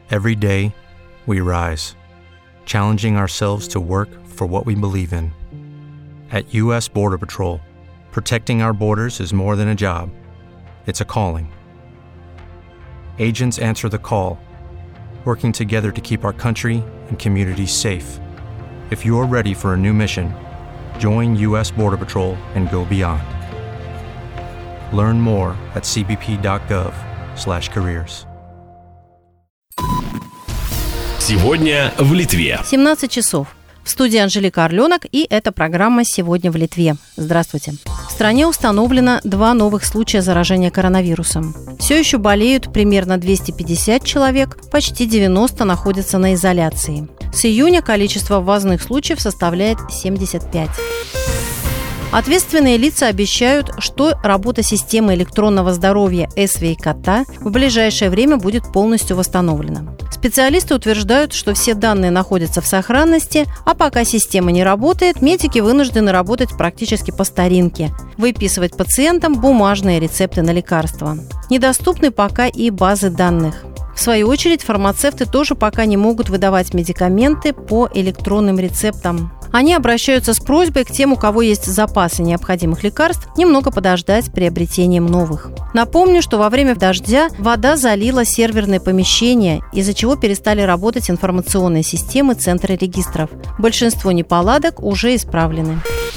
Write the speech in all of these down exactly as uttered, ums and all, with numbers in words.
Every day, we rise, challenging ourselves to work for what we believe in. At U S Border Patrol, protecting our borders is more than a job. It's a calling. Agents answer the call, working together to keep our country and communities safe. If you're ready for a new mission, join U S Border Patrol and go beyond. Learn more at c b p dot gov slash careers. Сегодня в Литве. семнадцать часов. В студии Анжелика Орленок, и это программа «Сегодня в Литве». Здравствуйте. В стране установлено два новых случая заражения коронавирусом. Все еще болеют примерно двести пятьдесят человек, почти девяносто находятся на изоляции. С июня количество ввозных случаев составляет семьдесят пять. Ответственные лица обещают, что работа системы электронного здоровья СВИ-Кота в ближайшее время будет полностью восстановлена. Специалисты утверждают, что все данные находятся в сохранности, а пока система не работает, медики вынуждены работать практически по старинке – выписывать пациентам бумажные рецепты на лекарства. Недоступны пока и базы данных. В свою очередь, фармацевты тоже пока не могут выдавать медикаменты по электронным рецептам. Они обращаются с просьбой к тем, у кого есть запасы необходимых лекарств, немного подождать с приобретением новых. Напомню, что во время дождя вода залила серверные помещения, из-за чего перестали работать информационные системы Центра регистров. Большинство неполадок уже исправлены.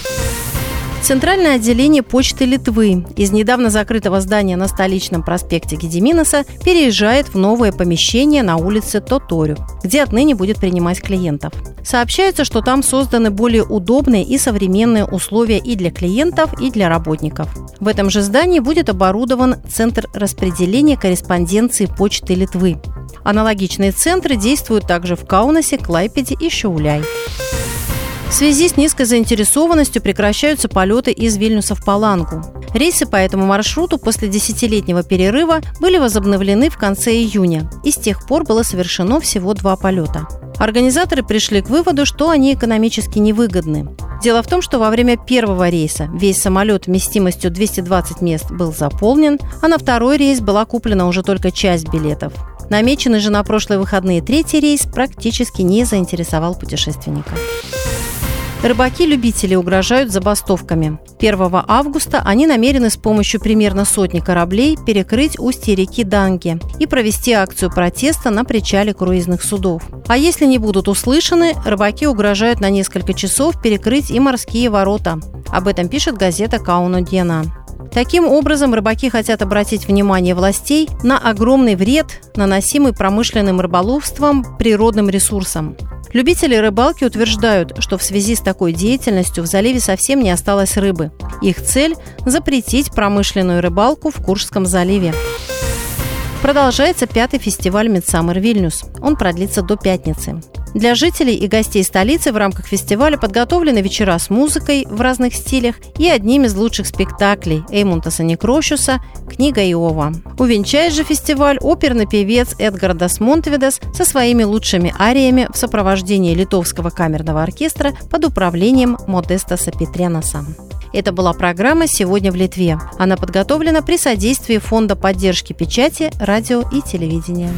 Центральное отделение Почты Литвы из недавно закрытого здания на столичном проспекте Гедиминаса переезжает в новое помещение на улице Тоторю, где отныне будет принимать клиентов. Сообщается, что там созданы более удобные и современные условия и для клиентов, и для работников. В этом же здании будет оборудован Центр распределения корреспонденции Почты Литвы. Аналогичные центры действуют также в Каунасе, Клайпеде и Šiauliai. В связи с низкой заинтересованностью прекращаются полеты из Вильнюса в Палангу. Рейсы по этому маршруту после десятилетнего перерыва были возобновлены в конце июня, и с тех пор было совершено всего два полета. Организаторы пришли к выводу, что они экономически невыгодны. Дело в том, что во время первого рейса весь самолет вместимостью двести двадцать мест был заполнен, а на второй рейс была куплена уже только часть билетов. Намеченный же на прошлые выходные третий рейс практически не заинтересовал путешественников. Рыбаки-любители угрожают забастовками. первого августа они намерены с помощью примерно сотни кораблей перекрыть устье реки Данге и провести акцию протеста на причале круизных судов. А если не будут услышаны, рыбаки угрожают на несколько часов перекрыть и морские ворота. Об этом пишет газета «Kauno Diena». Таким образом, рыбаки хотят обратить внимание властей на огромный вред, наносимый промышленным рыболовством природным ресурсам. Любители рыбалки утверждают, что в связи с такой деятельностью в заливе совсем не осталось рыбы. Их цель – запретить промышленную рыбалку в Куршском заливе. Продолжается пятый фестиваль Midsummer Vilnius. Он продлится до пятницы. Для жителей и гостей столицы в рамках фестиваля подготовлены вечера с музыкой в разных стилях и одним из лучших спектаклей Эймунтаса Некрошуса «Книга Иова». Увенчает же фестиваль оперный певец Эдгардас Монтвидас со своими лучшими ариями в сопровождении литовского камерного оркестра под управлением Модестаса Петренаса. Это была программа «Сегодня в Литве». Она подготовлена при содействии Фонда поддержки печати, радио и телевидения.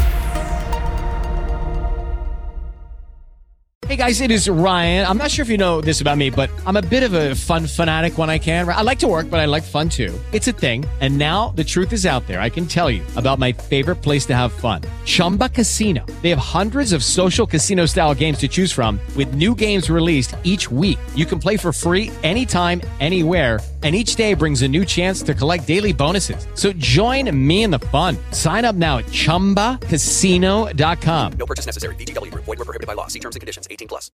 Hey guys, it is Ryan. I'm not sure if you know this about me, but I'm a bit of a fun fanatic when I can. I like to work, but I like fun too. It's a thing. And now the truth is out there. I can tell you about my favorite place to have fun. Chumba Casino. They have hundreds of social casino style games to choose from with new games released each week. You can play for free anytime, anywhere. And each day brings a new chance to collect daily bonuses. So join me in the fun. Sign up now at chumba casino dot com. No purchase necessary. V G W Group. Void where prohibited by law. See terms and conditions. eighteen plus.